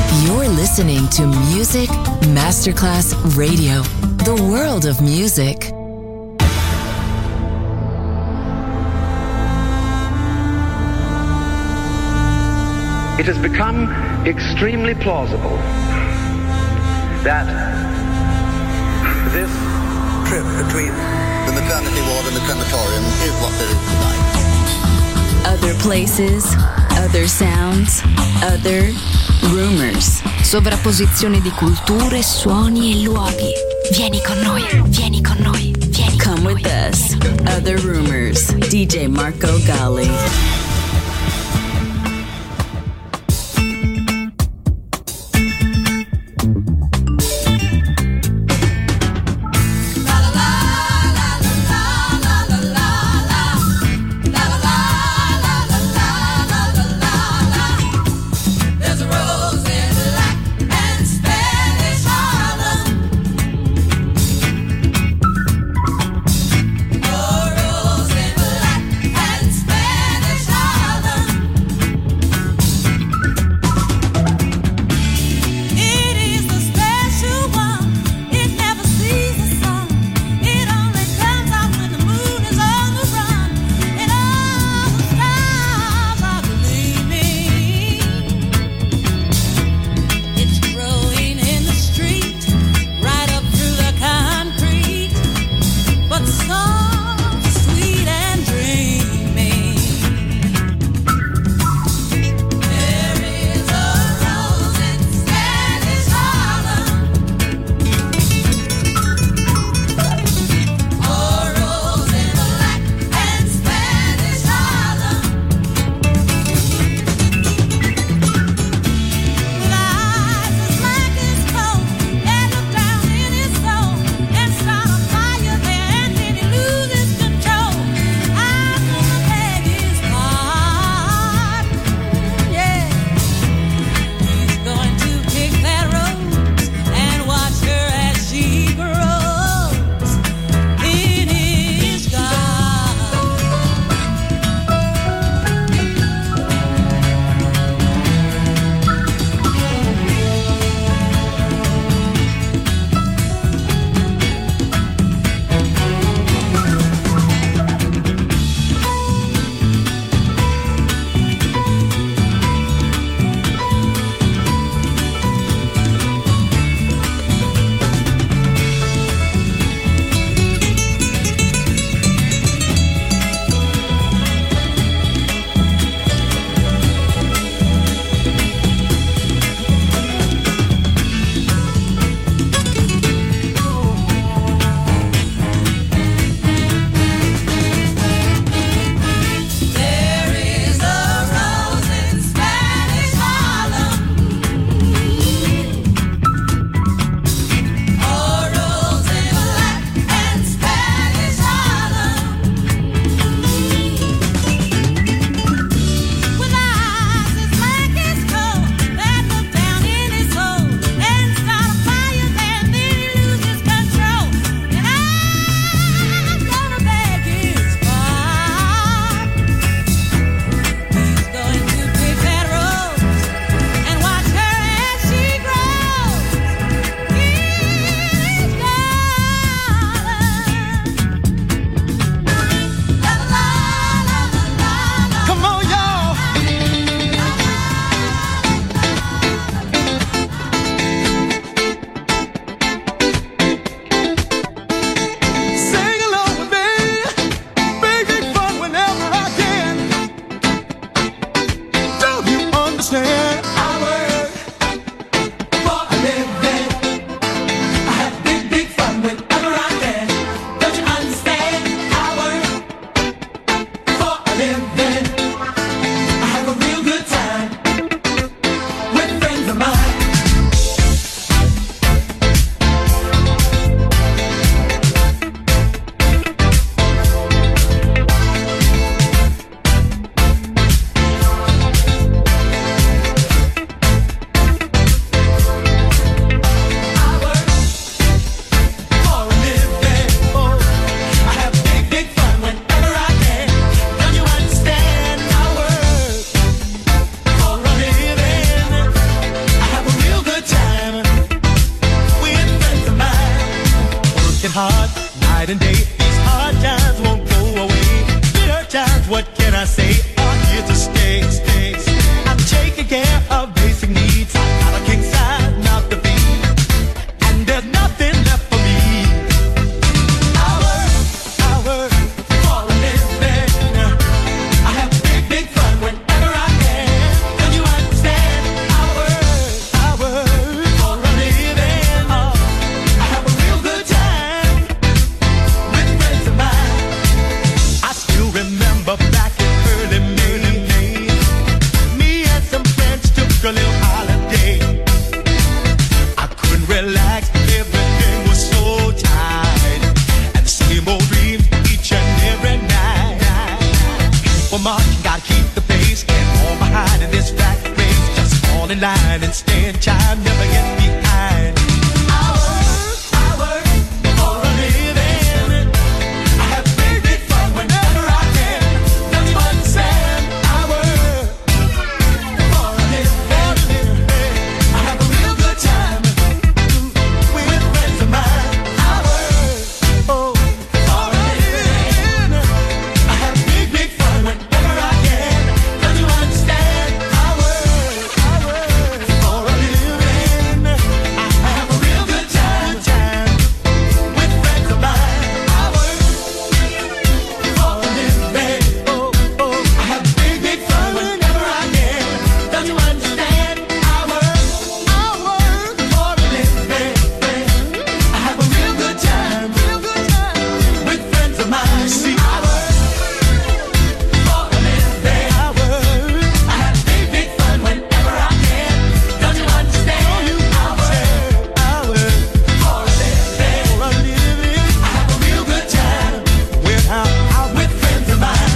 You're listening to Music Masterclass Radio, the world of music. It has become extremely plausible that this trip between the maternity ward and the crematorium is what there is tonight. Other places, other sounds, other rumors. Sovrapposizione di culture, suoni e luoghi. Vieni con noi, vieni con noi, vieni con Come noi. with us. Other rumors. DJ Marco Gally. care of basic needs. I got a king size mouth to feed, and there's nothing left for me. I work for a living. I have big fun whenever I can. Don't you understand? I work for a living. I have a real good time with friends of mine. I still remember back in early May, me and some friends took a little holiday. I couldn't relax, everything was so tight, and the same old dreams each and every night. People marching, gotta keep the pace, can't fall behind in this fat race. Just fall in line and stand time, never get behind. I work for a living. I have big fun whenever I can. Don't you understand? I work for a living. I have a real good time with friends of mine. I work for a living. I have big fun whenever I can. Don't you understand? I work for a living. I have a real good time with friends of mine. I work for a living. I have big fun whenever I can. Don't you understand? I work for a living. I have a real good time with friends of mine. See, I work for a living. I have big fun whenever I can. Don't you understand? I work for a living. I have a real good time with friends of mine.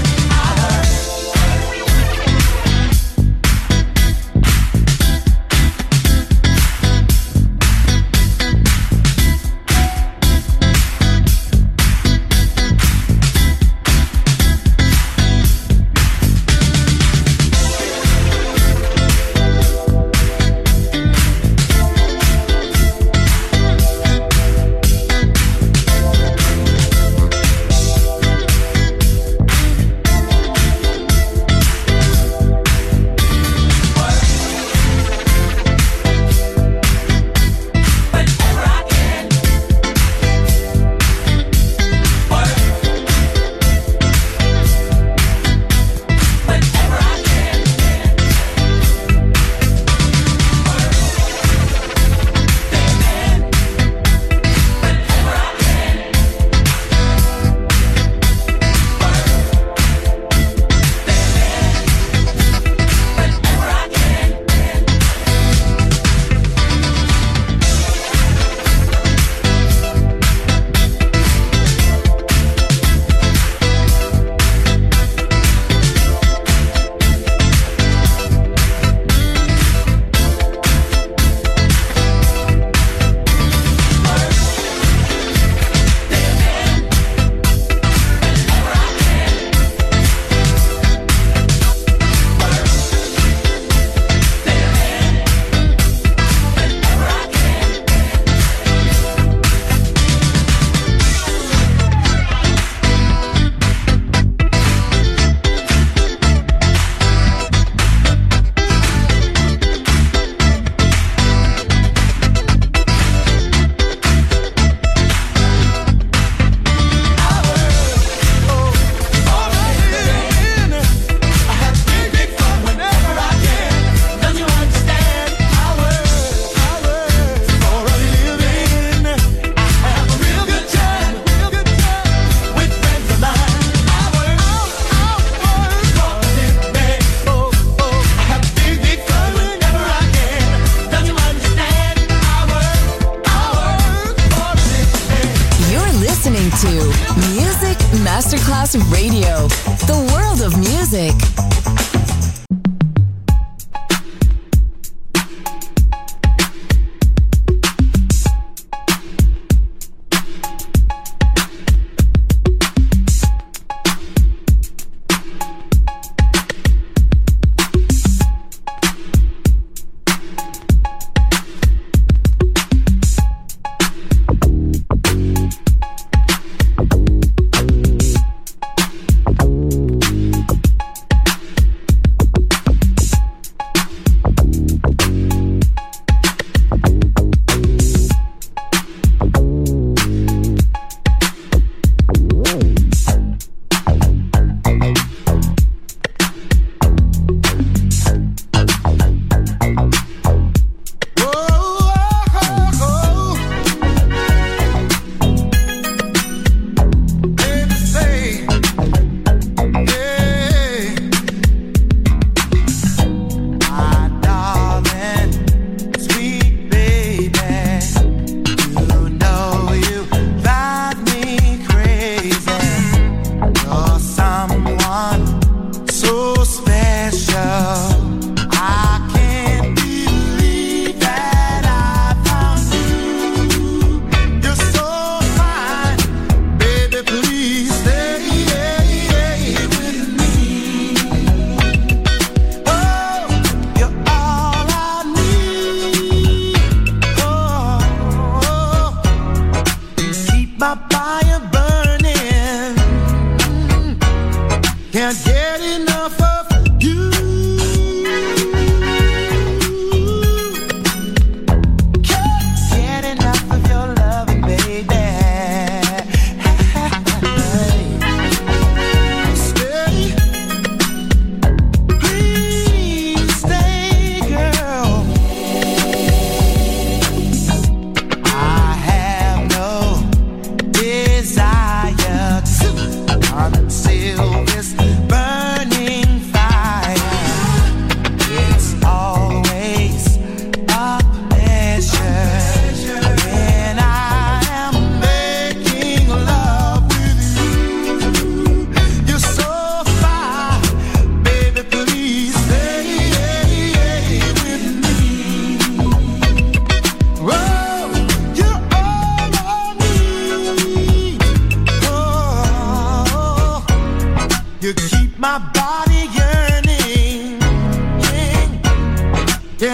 Masterclass Radio, the world of music.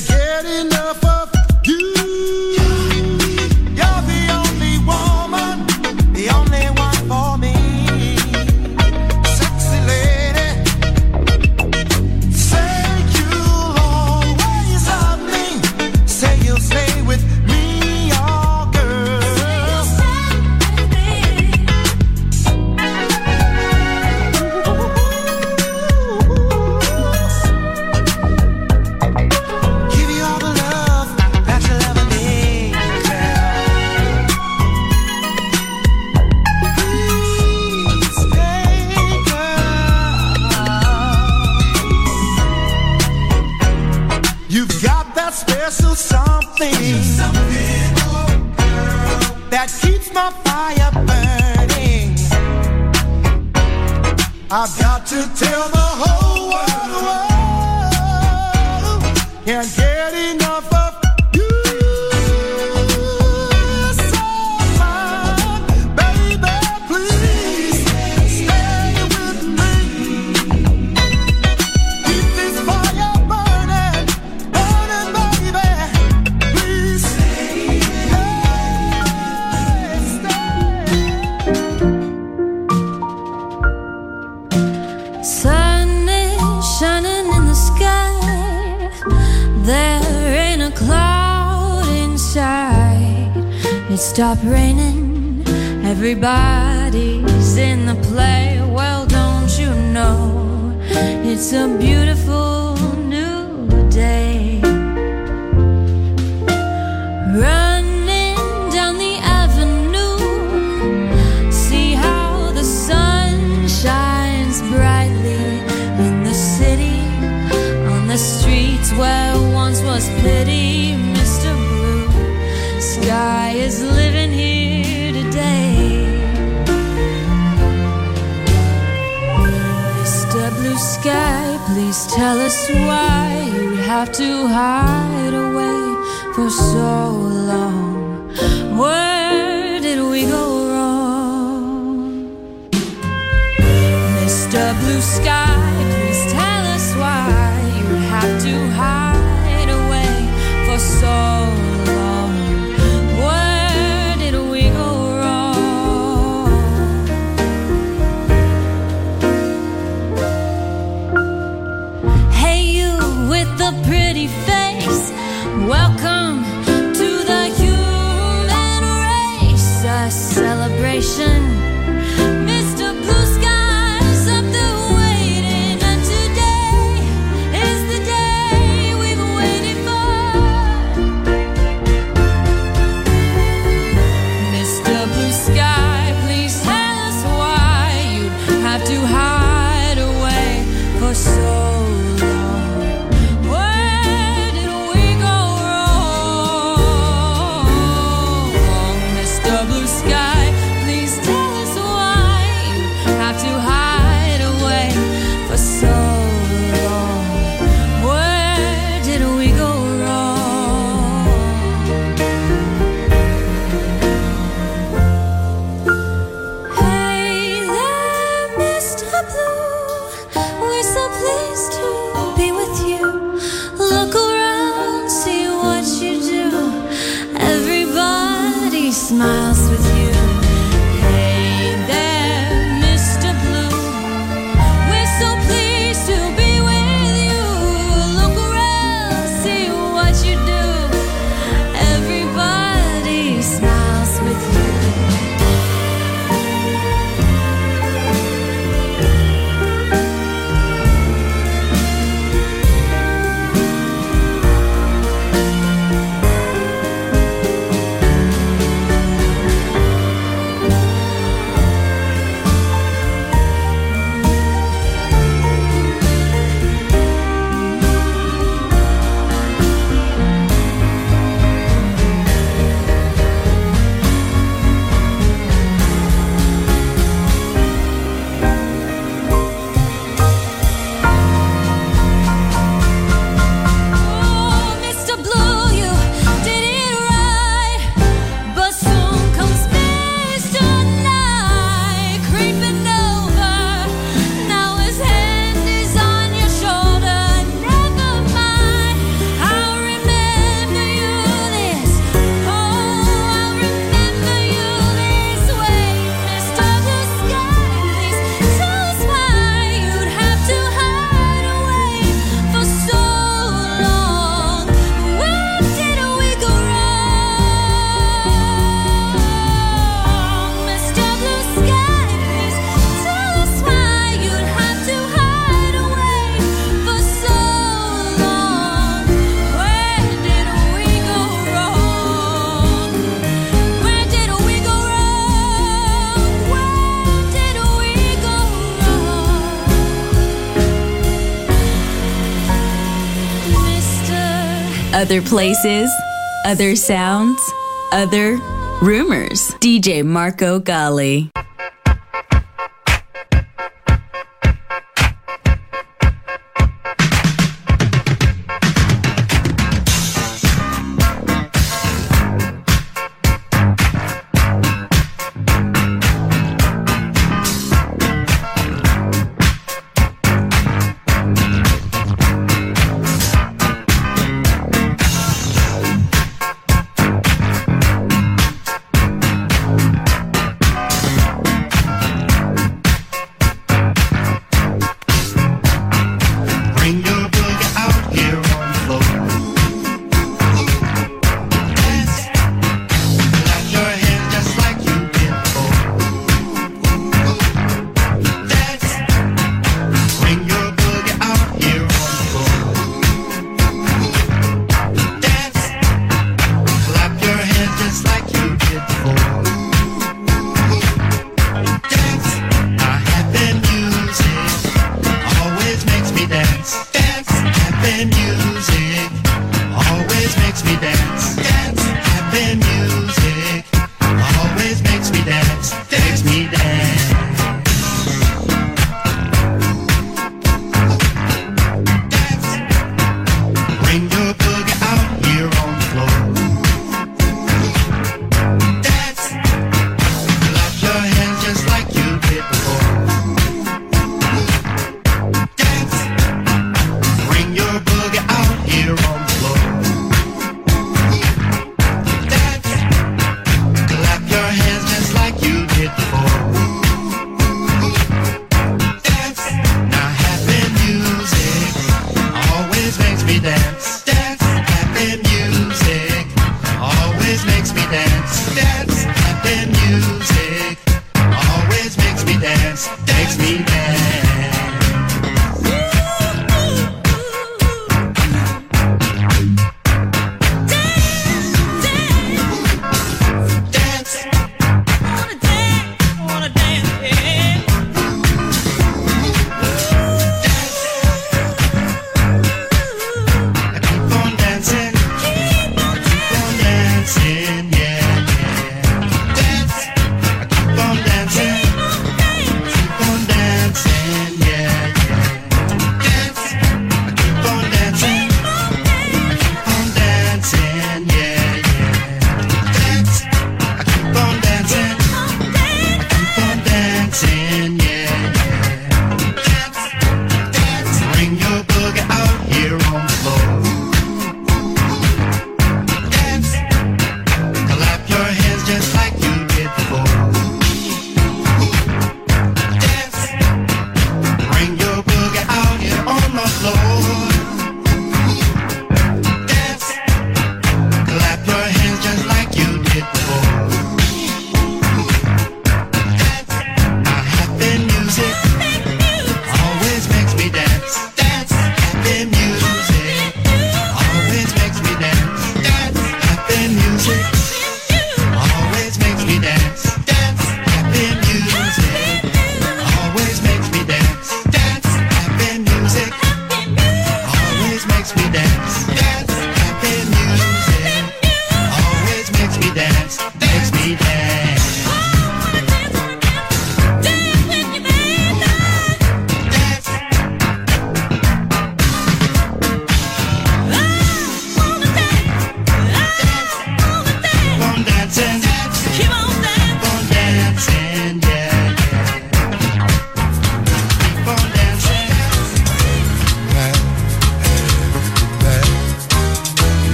Can't get enough of you. You're the only woman, the only one for me. Sexy lady, say you'll always love me. Say you'll stay with me, oh girl. Give you all the love that you'll ever need, girl. Please stay, girl. You've got that special something, that keeps my fire burning. I've got to tell the whole world, can't get enough of you. So fine, baby, please stay with me. Keep this fire burning, burning, baby. Please stay. Sun is shining in the sky. There ain't a cloud inside. It stopped raining. Everybody's in the play. Well, don't you know it's a beautiful new day. Running down the avenue, see how the sun shines brightly in the city, on the streets where once was pity. Mr. Blue Sky is living here today. Mr. Blue Sky, please tell us why you have to hide away for so long. Where did we go wrong? Mr. Blue Sky, please tell us why you have to hide away for so long. Where did we go wrong? Hey, you with the pretty face, welcome to the Other places, other sounds, other rumors. DJ Marco Gally.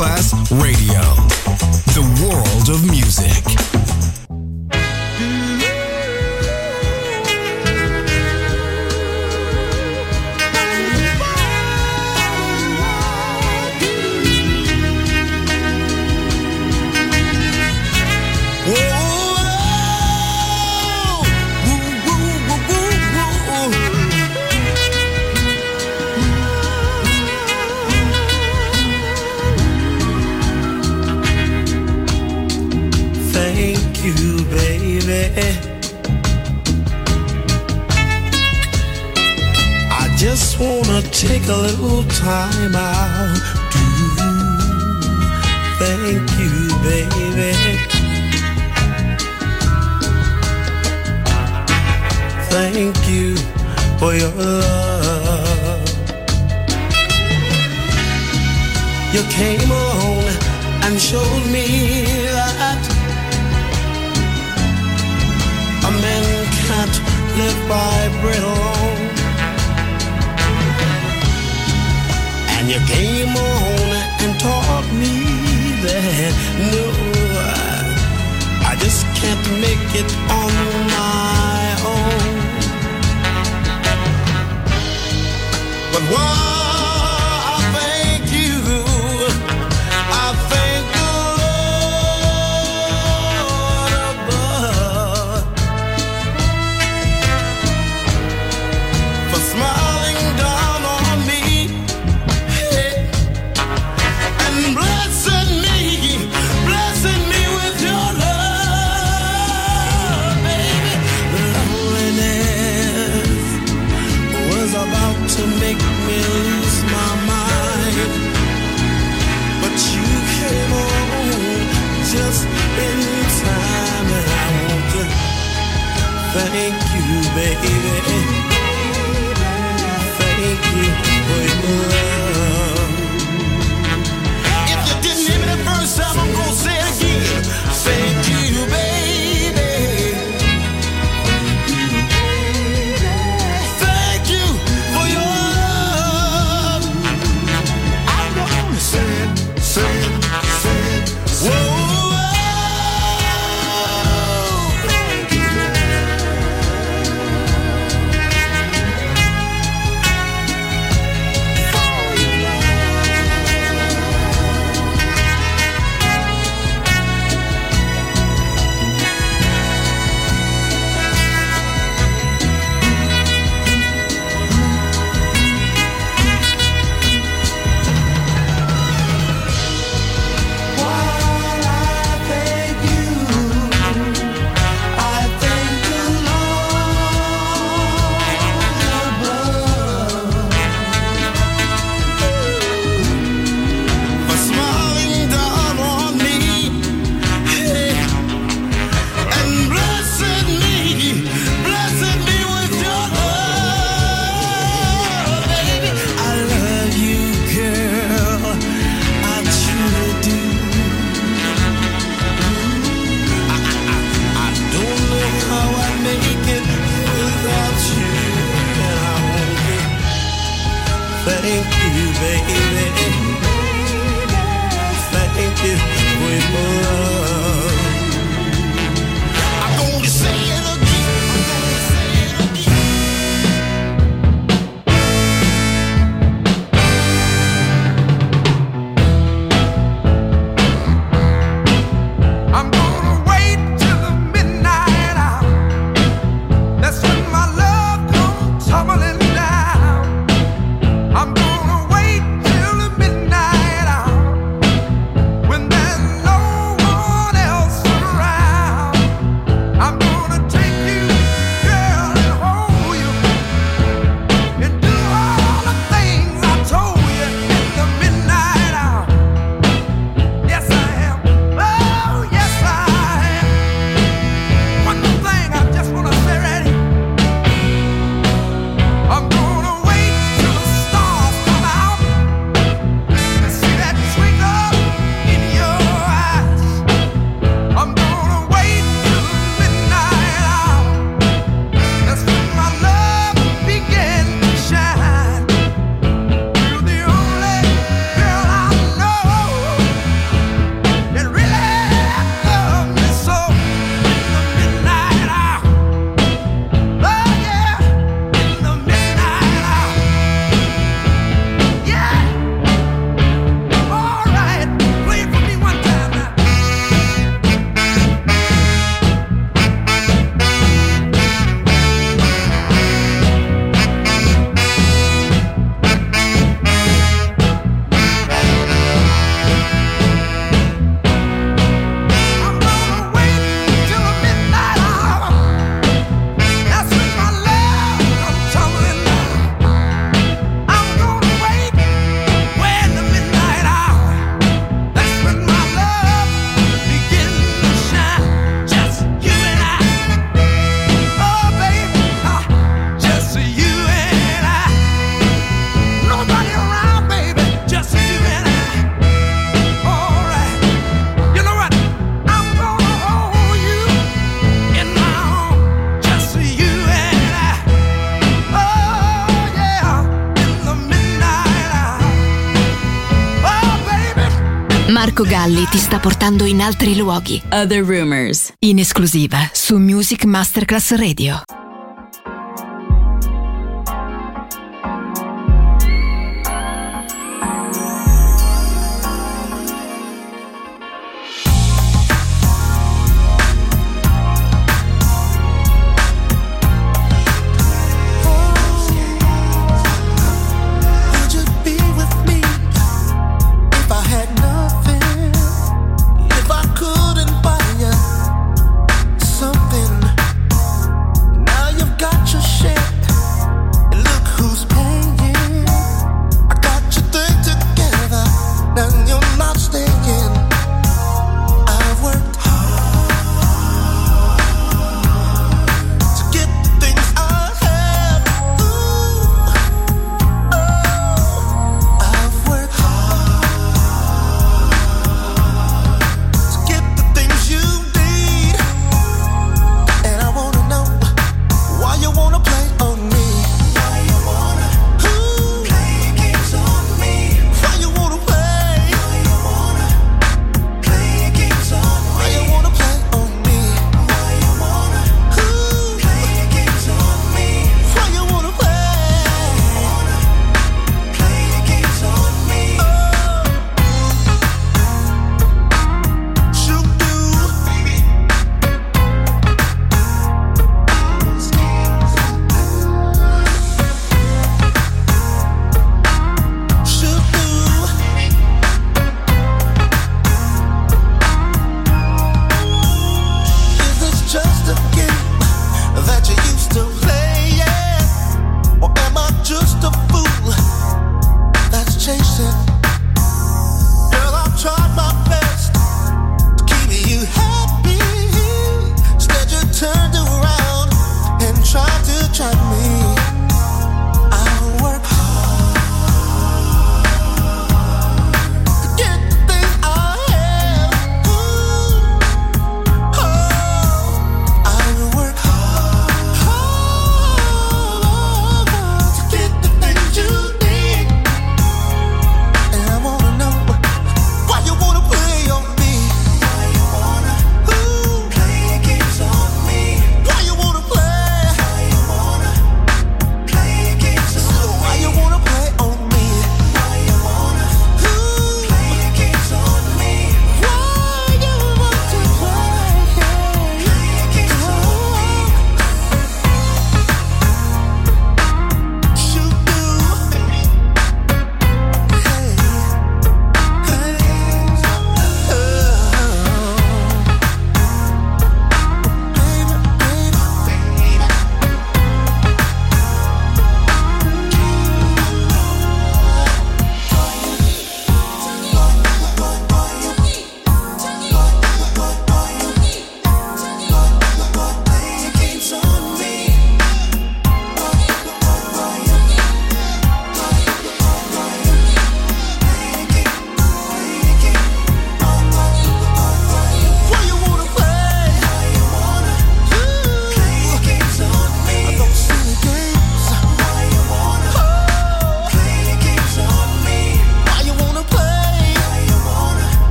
Masterclass Radio, the world of music. Just wanna take a little time out to thank you, baby. Thank you for your love. You came along and showed me that a man can't live by bread alone. And you came on and taught me that no, I just can't make it on my own. But why I thank you, I thank the Lord above for smiling down on me. Blessing me with your love, baby. Loneliness was about to make me lose my mind, but you came on just in time, and I want to thank you, baby. Thank you for your love. Didn't hear me the first time, I'm gonna say it again. Thank you, baby. Thank you for your love. I'm gonna say it. Whoa. Thank you. Thank you, baby. Thank you for your love. I'm gonna say it I'm gonna wait till the midnight hour. That's when my love comes tumbling down. I'm gonna wait till the Marco Galli ti sta portando in altri luoghi. Other Rumors, in esclusiva su Music Masterclass Radio. Something now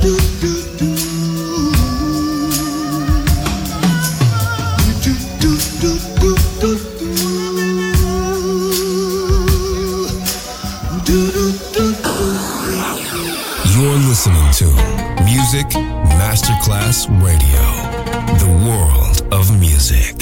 You're listening to Music Masterclass Radio, the world of music.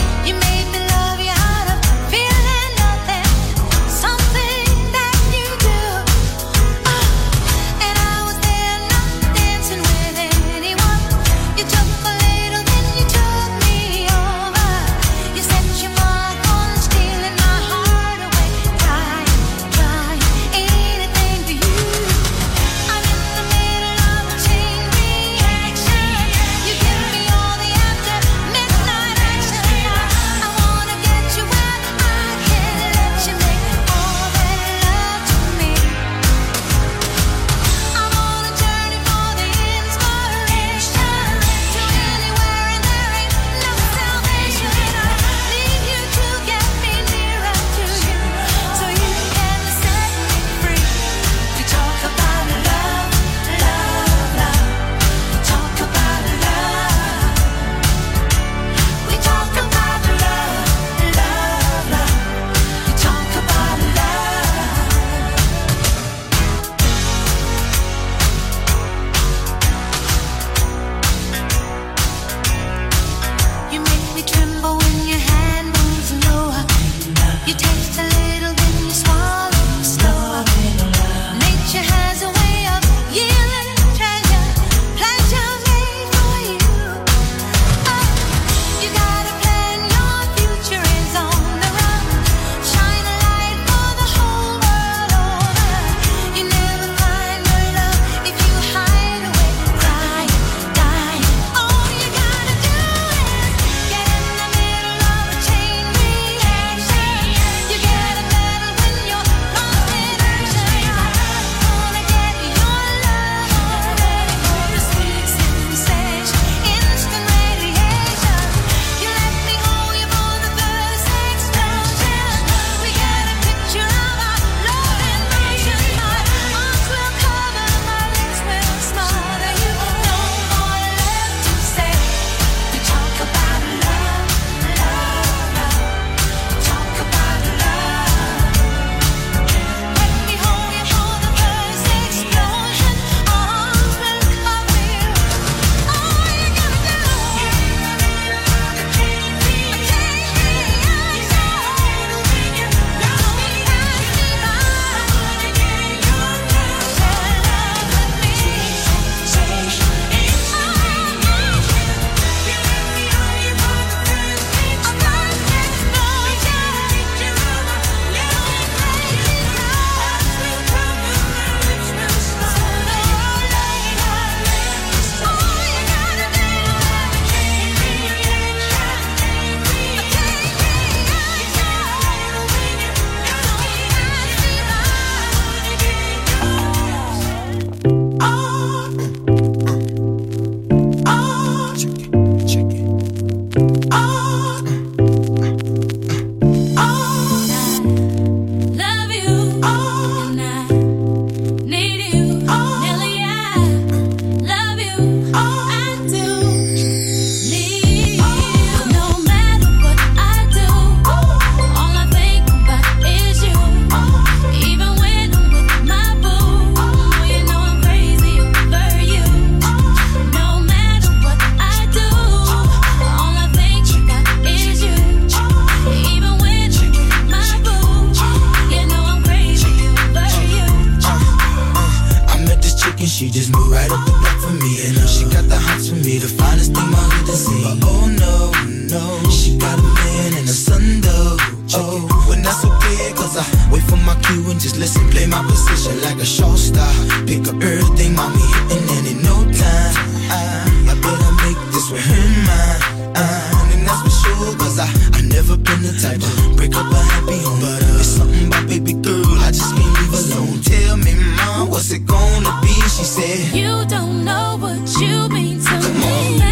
she just moved right up the block for me. And she got the hots for me, the finest thing my hood has seen. But oh no, no, she got a man and a son though. Oh, when that's okay, cause I wait for my cue and just listen, play my position like a show star. Pick up everything, mommy hitting, and in no time I better make this with her mine. And that's for sure, cause I never been the type to break up a happy home. But it's something about baby girl, I just can't leave alone. Tell me, mom, what's it gonna be? She said, you don't know what you mean to me.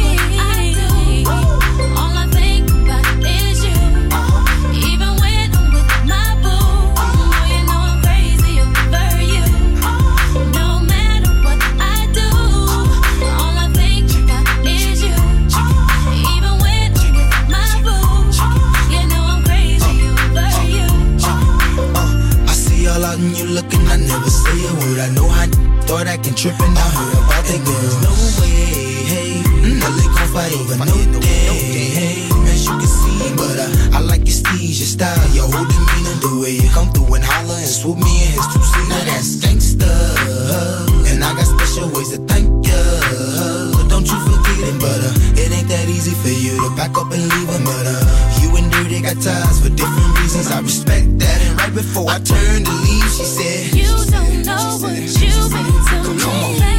And you looking, I never say a word. I know how thought acting tripping. I heard about that girl. No way, hey, they gon' fight over no day, hey, as you can see. But I like your steez, your style, your whole demeanor, the way you come through and holler and swoop me in his two-seater. Now that's gangsta, and I got special ways to thank ya. Don't you forget it, but it ain't that easy for you to back up and leave him. But you and Dirty got ties for different reasons. I respect that. And right before I turned to leave, she said, you don't know what you've been to me. Come on.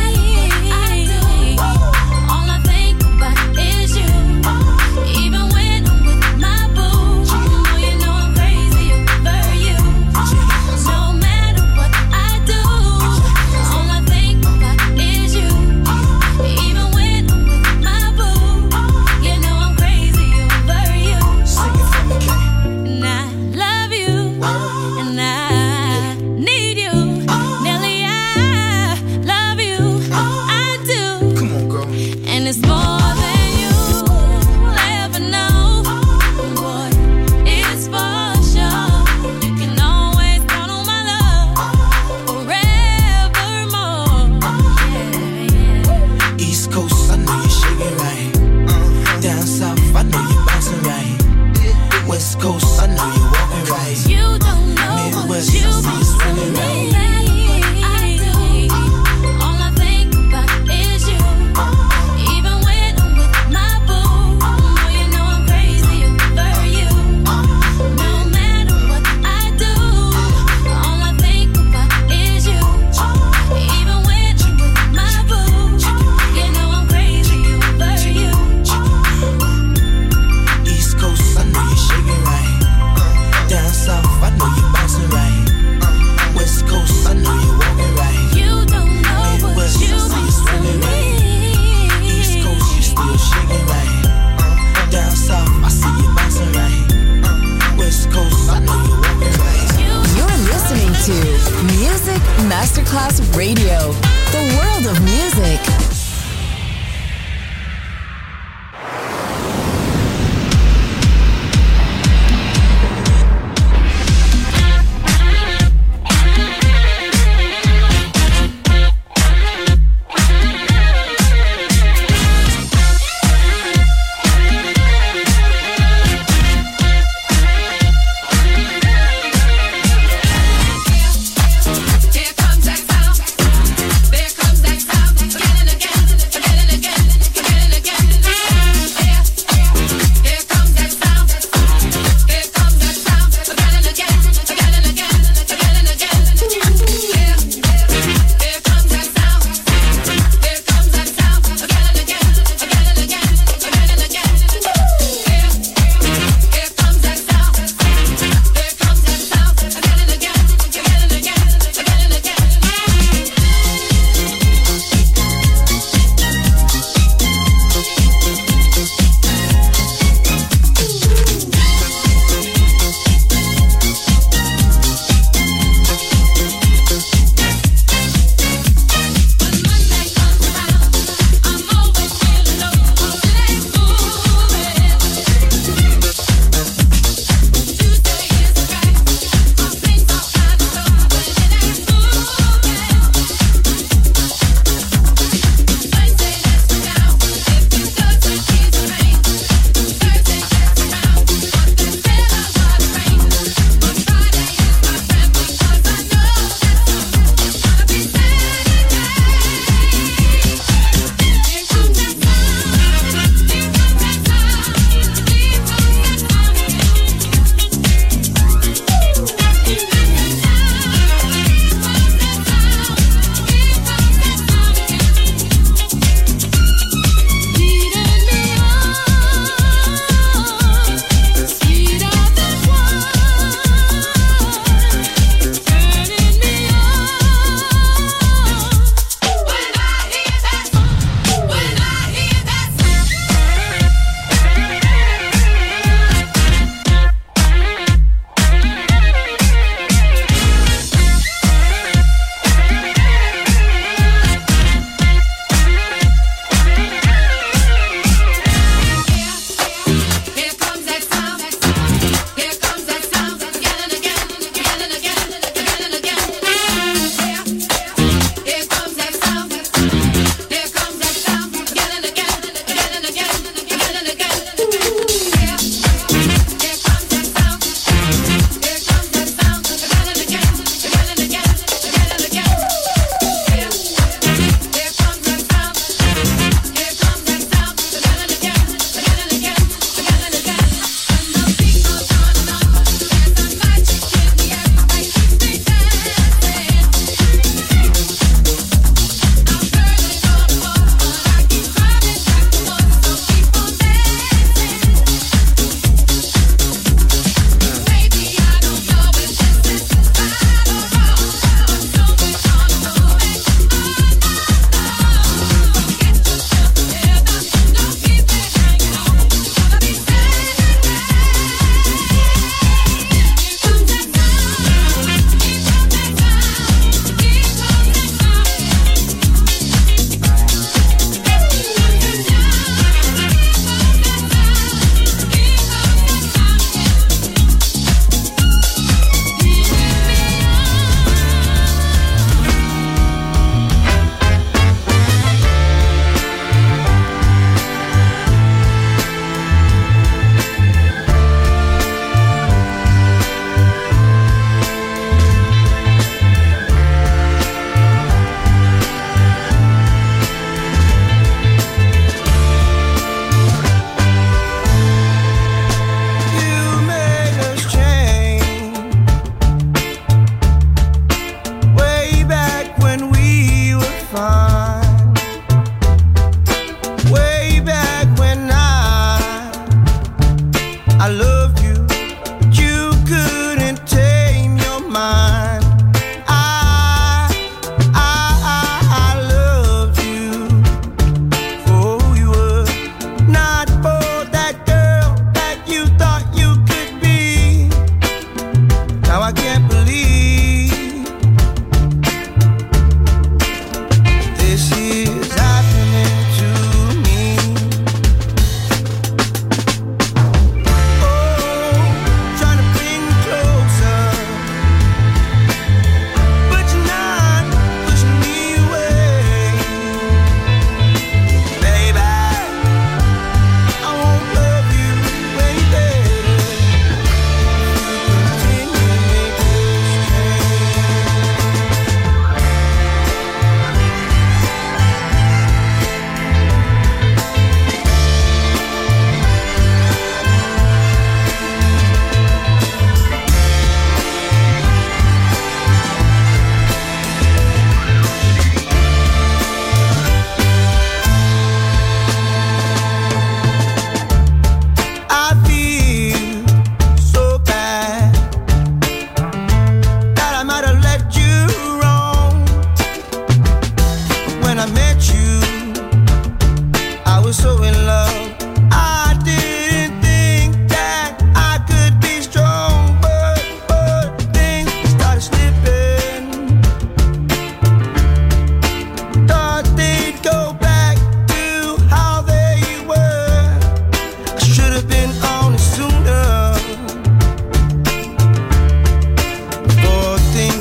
All I think about is you. Even when I'm with my boo, you know I'm crazy over you. No matter what I do, all I think about is you. Even when I'm with my boo, you know I'm crazy over you. Sing it for me, Kay. And I love you, and I need you. Nelly, I love you, I do. Come on, girl. And it's more than you'll ever know. Boy, it's for sure. You can always count on my love forevermore. Yeah. East Coast, I know you're shaking right. Down south, I know you're bouncing right. West Coast, I know you're walking right. You don't know Midwest, what I you've see been you swinging to right. me. I do. All I think about is you. Even when I'm with my boo, you know I'm crazy over you. No matter what I do, all I think about is you. Even when I'm with my boo, you know I'm crazy over you. East Coast, I know you're shaking right. Down south, I know you're bouncing right. West Coast, I know you're walking right. You don't know what Midwest, I you've see you been swinging to right. me. East Coast, you still shaking right. Down south, I see you bouncing right. West Coast, I know you're walking right. You're listening to Music Masterclass Radio, the world of music. Here comes that sound. There comes that sound. Again and again.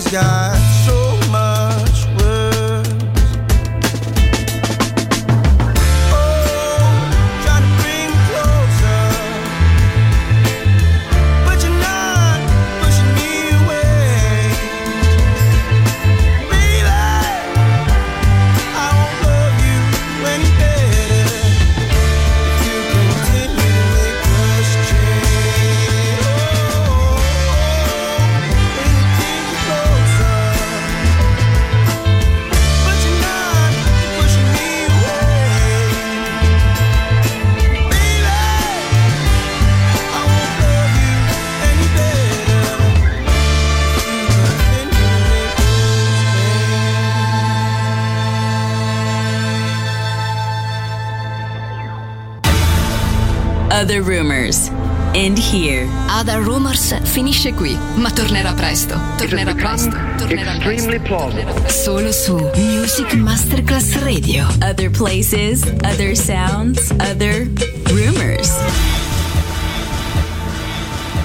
got so much worse. Oh, trying to bring closer, but you're not pushing me away. Baby, I won't love you any better if you continue to make us change. Oh, when you bring me closer, but you're not pushing me away. Baby, I won't love you any better if you continue to make us Other Rumors. End here. Other Rumors finisce qui, ma tornerà presto. Tornerà presto. Tornerà Extremely plausible. Solo su Music Masterclass Radio. Other places, other sounds, other rumors.